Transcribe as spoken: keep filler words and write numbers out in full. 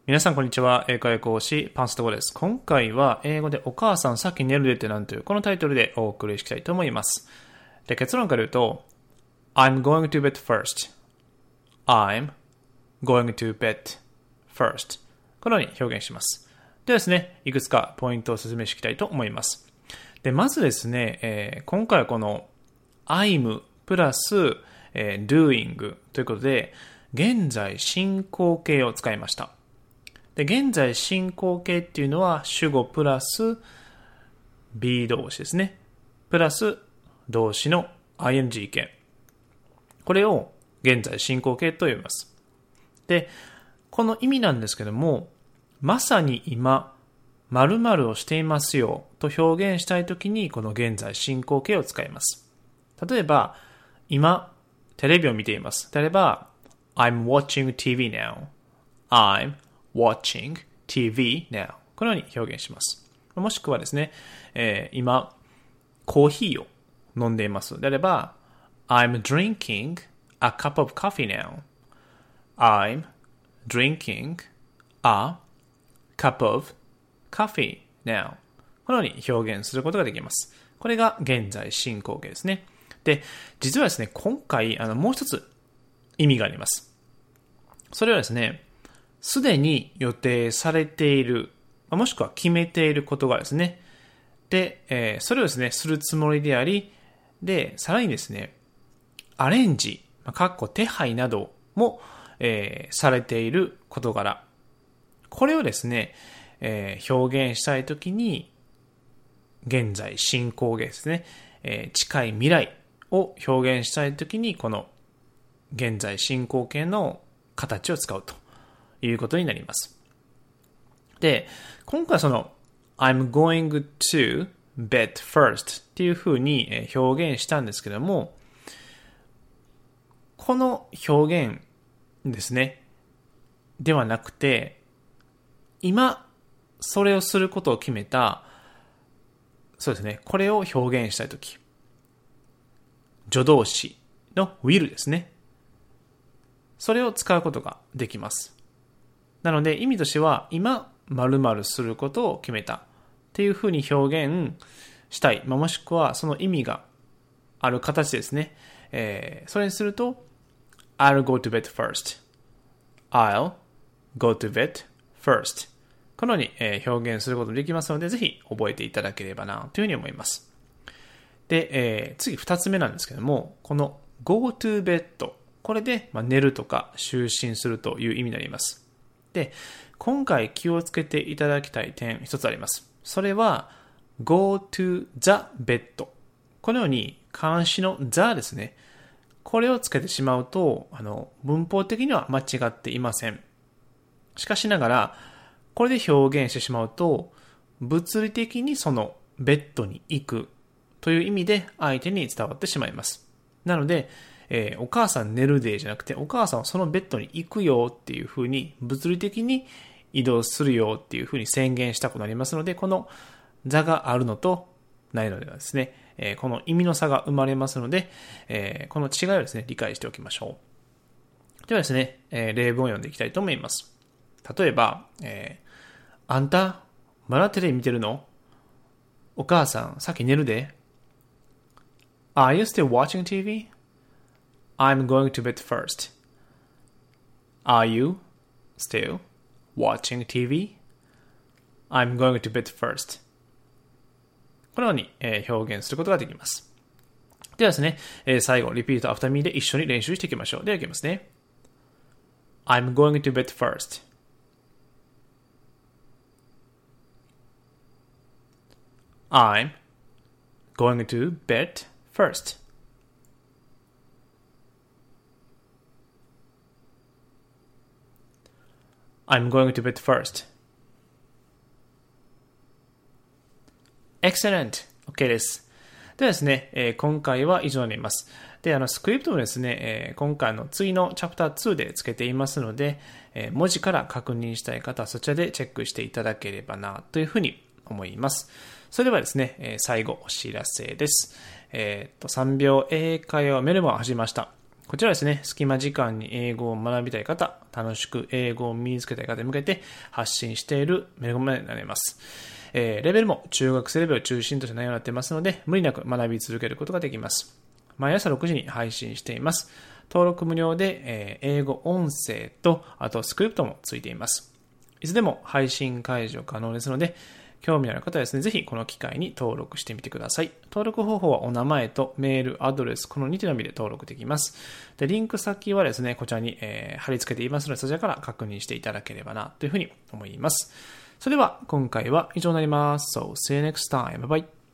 皆さんこんにちは。英会話講師パンストゴです。今回は英語でお母さんさっき寝るでってなんというこのタイトルでお送りしたいと思います。で、結論から言うと I'm going to bed first. I'm going to bed first. このように表現します。ではですね、いくつかポイントを説明していきたいと思います。で、まずですね、えー、今回はこの I'm プラス、えー、doing ということで現在進行形を使いました。で、現在進行形っていうのは主語プラス be 動詞ですね。プラス動詞の ing 形。これを現在進行形と呼びます。で、この意味なんですけども、まさに今、〇〇をしていますよと表現したいときにこの現在進行形を使います。例えば、今、テレビを見ています。例えば、I'm watching ティーブイ now. I'm watching ティーブイ now. このように表現します。もしくはですね、えー、今、コーヒーを飲んでいます。であれば、I'm drinking a cup of coffee now. I'm drinking a cup of coffee now. このように表現することができます。これが現在進行形ですね。で、実はですね、今回、あの、もう一つ意味があります。それはですね、すでに予定されている、もしくは決めていることがですね、で、えー、それをですね、するつもりであり、で、さらにですね、アレンジ、かっこ手配なども、えー、されている事柄。これをですね、えー、表現したいときに、現在進行形ですね、えー、近い未来を表現したいときに、この現在進行形の形を使うということになります。で、今回その I'm going to bed first っていうふうに表現したんですけども、この表現ですね、ではなくて、今それをすることを決めた、そうですね、これを表現したいとき、助動詞の will ですね。それを使うことができます。なので意味としては今〇〇することを決めたっていうふうに表現したい、まあ、もしくはその意味がある形ですね、えー、それにすると I'll go to bed first I'll go to bed first このように、えー、表現することができますのでぜひ覚えていただければなというふうに思います。で、えー、次二つ目なんですけども、この go to bedこれで、まあ、寝るとか就寝するという意味になります。で、今回気をつけていただきたい点一つあります。それは go to the bed このように漢詞の the ですね。これをつけてしまうとあの文法的には間違っていません。しかしながらこれで表現してしまうと物理的にそのベッドに行くという意味で相手に伝わってしまいます。なのでえー、お母さん寝るでじゃなくてお母さんはそのベッドに行くよっていう風に物理的に移動するよっていう風に宣言したくなりますので、この座があるのとないのではですね、えー、この意味の差が生まれますので、えー、この違いをですね理解しておきましょう。ではですね、えー、例文を読んでいきたいと思います。例えば、えー、あんたまだテレビ見てるの？お母さんさっき寝るで。Are you still watching ティーブイ? I'm going to bed first. Are you still watching ティーブイ? I'm going to bed first. このように、えー、表現することができます。ではですね、えー、最後、repeat after me で一緒に練習していきましょう。では、いきますね。I'm going to bed first. I'm going to bed first.I'm going to bed first. Excellent! OK です。ではですね、えー、今回は以上になります。で、あの、スクリプトもですね、えー、今回の次のチャプターツーでつけていますので、えー、文字から確認したい方はそちらでチェックしていただければなというふうに思います。それではですね、えー、最後お知らせです。えー、っと、さんびょう英会話メルマガを始めました。 こちらはですね、隙間時間に英語を学びたい方、楽しく英語を身につけたい方に向けて発信しているメルマガになります。えー、レベルも中学生レベルを中心とした内容になっていますので、無理なく学び続けることができます。毎朝ろくじに配信しています。登録無料で、えー、英語音声と、あとスクリプトもついています。いつでも配信解除可能ですので、興味ある方はですね、ぜひこの機会に登録してみてください。登録方法はお名前とメール、アドレス、このにてのみで登録できます。で、リンク先はですね、こちらに、えー、貼り付けていますので、そちらから確認していただければな、というふうに思います。それでは、今回は以上になります。So, see you next time. Bye bye.